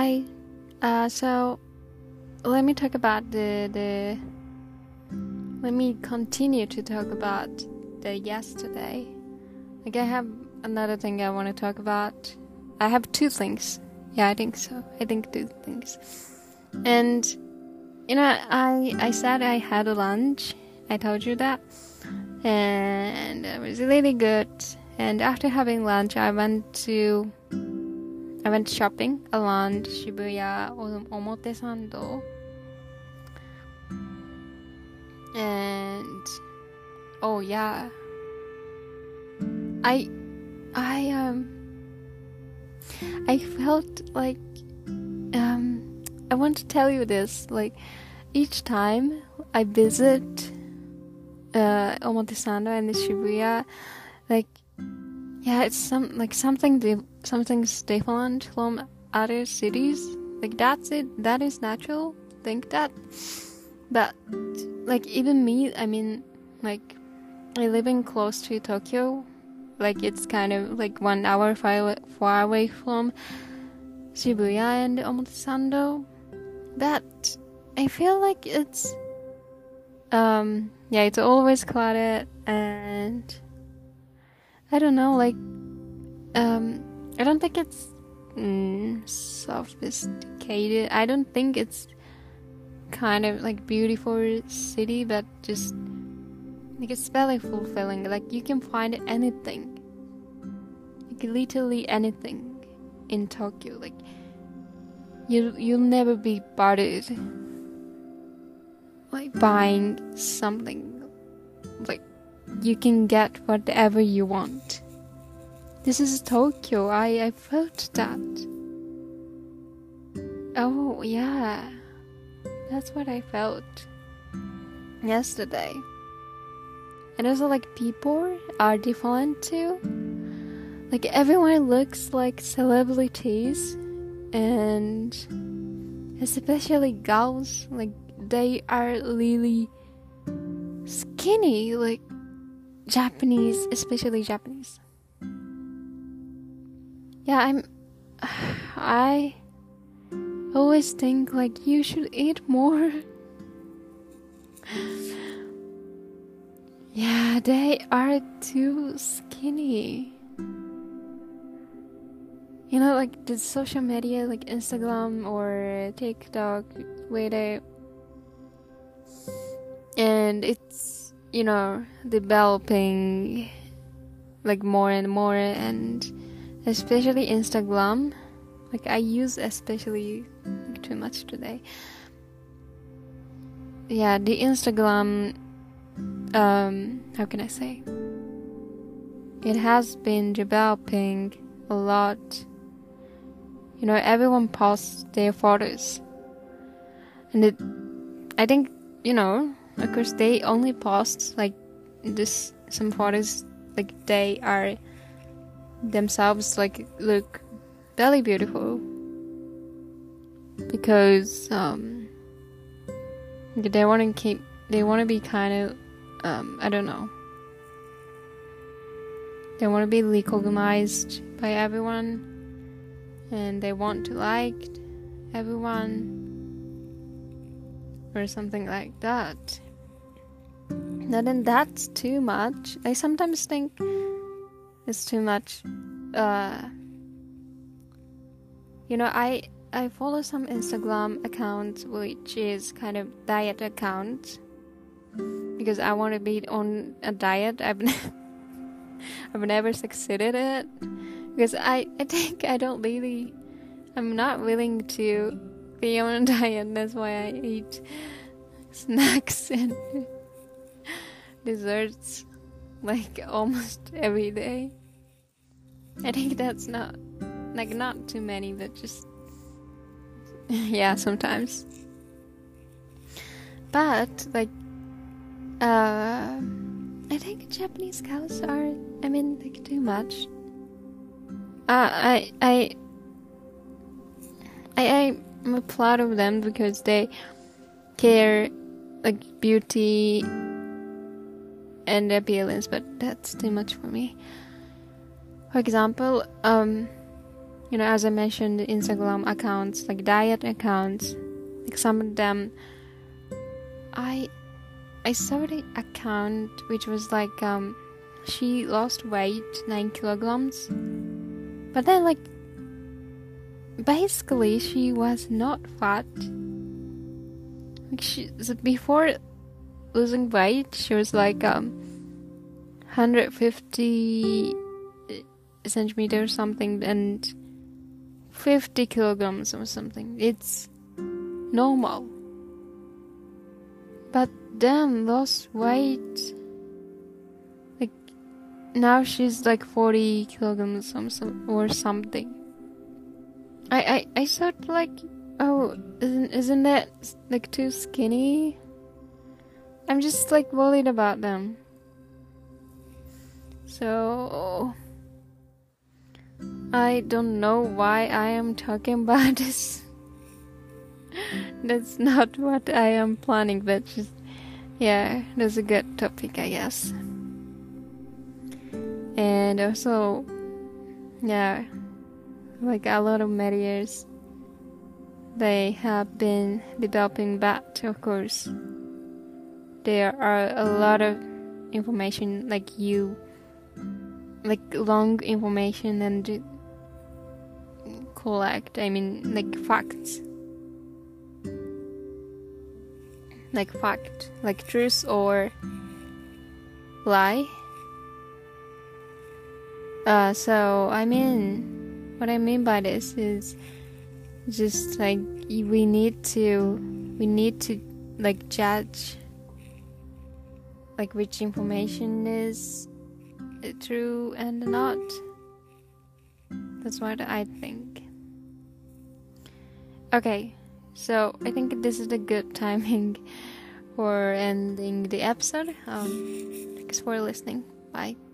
Hi. So let me talk about the. Let me continue to talk about the yesterday. Like I have another thing I want to talk about. I have two things. Yeah, I think so. I think two things. And I said I had a lunch. I told you that, and it was really good. And after having lunch, I went shopping around Shibuya Omotesando. And oh yeah, I felt like I want to tell you this. Like each time I visit Omotesando and Shibuya, like yeah, it's something's different from other cities. Like that's it. That is natural. Think that. But like even me, I mean, like I living close to Tokyo, like it's kind of like 1 hour far away from Shibuya and Omotesando. That I feel like it's it's always crowded, and I don't know, like I don't think it's sophisticated. I don't think it's kind of like beautiful city, but just like it's very fulfilling. Like you can find anything, like literally anything in Tokyo. Like you'll never be bothered like buying something. Like you can get whatever you want. This is Tokyo. I felt that. Oh yeah, that's what I felt yesterday. And also like people are different too. Like everyone looks like celebrities, and especially girls, like they are really skinny, like Japanese, especially Japanese. Yeah, I always think like you should eat more. Yeah, they are too skinny. You know, like the social media, like Instagram or TikTok, Twitter, and it's, you know, developing like more and more, and especially Instagram. Like I use especially like, too much today. Yeah, the Instagram, how can I say? It has been developing a lot. You know, everyone posts their photos. And I think, you know, of course they only post like some photos like they are themselves like look very beautiful, because they want to be kind of I don't know, they want to be recognized by everyone, and they want to like everyone or something like that. Now then, that's too much. I sometimes think it's too much. You know, I follow some Instagram accounts which is kind of diet account, because I want to be on a diet. I've never succeeded it, because I think I'm not willing to be on a diet. That's why I eat snacks and desserts like almost every day. I think that's not too many, but just yeah, sometimes. But like I think Japanese cows are, I mean, like too much. I'm proud of them because they care like beauty and appearance, but that's too much for me. For example, as I mentioned, Instagram accounts, like diet accounts, like some of them, I saw the account which was like she lost weight 9 kilograms, but then like basically she was not fat. Like before losing weight, she was like 150 centimeters something and 50 kilograms or something. It's normal. But then lost weight. Like now she's like 40 kilograms or something. I thought like, oh, isn't that like too skinny? I'm just like worried about them. So I don't know why I am talking about this. That's not what I am planning, but just, yeah, that's a good topic, I guess. And also, yeah, like a lot of medias, they have been developing that, of course. There are a lot of information, like long information and collect, like facts. Like fact, like truth or lie. So what I mean by this is just like we need to like judge like which information is true and not. That's what I think. Okay, so I think this is a good timing for ending the episode. Thanks for listening. Bye.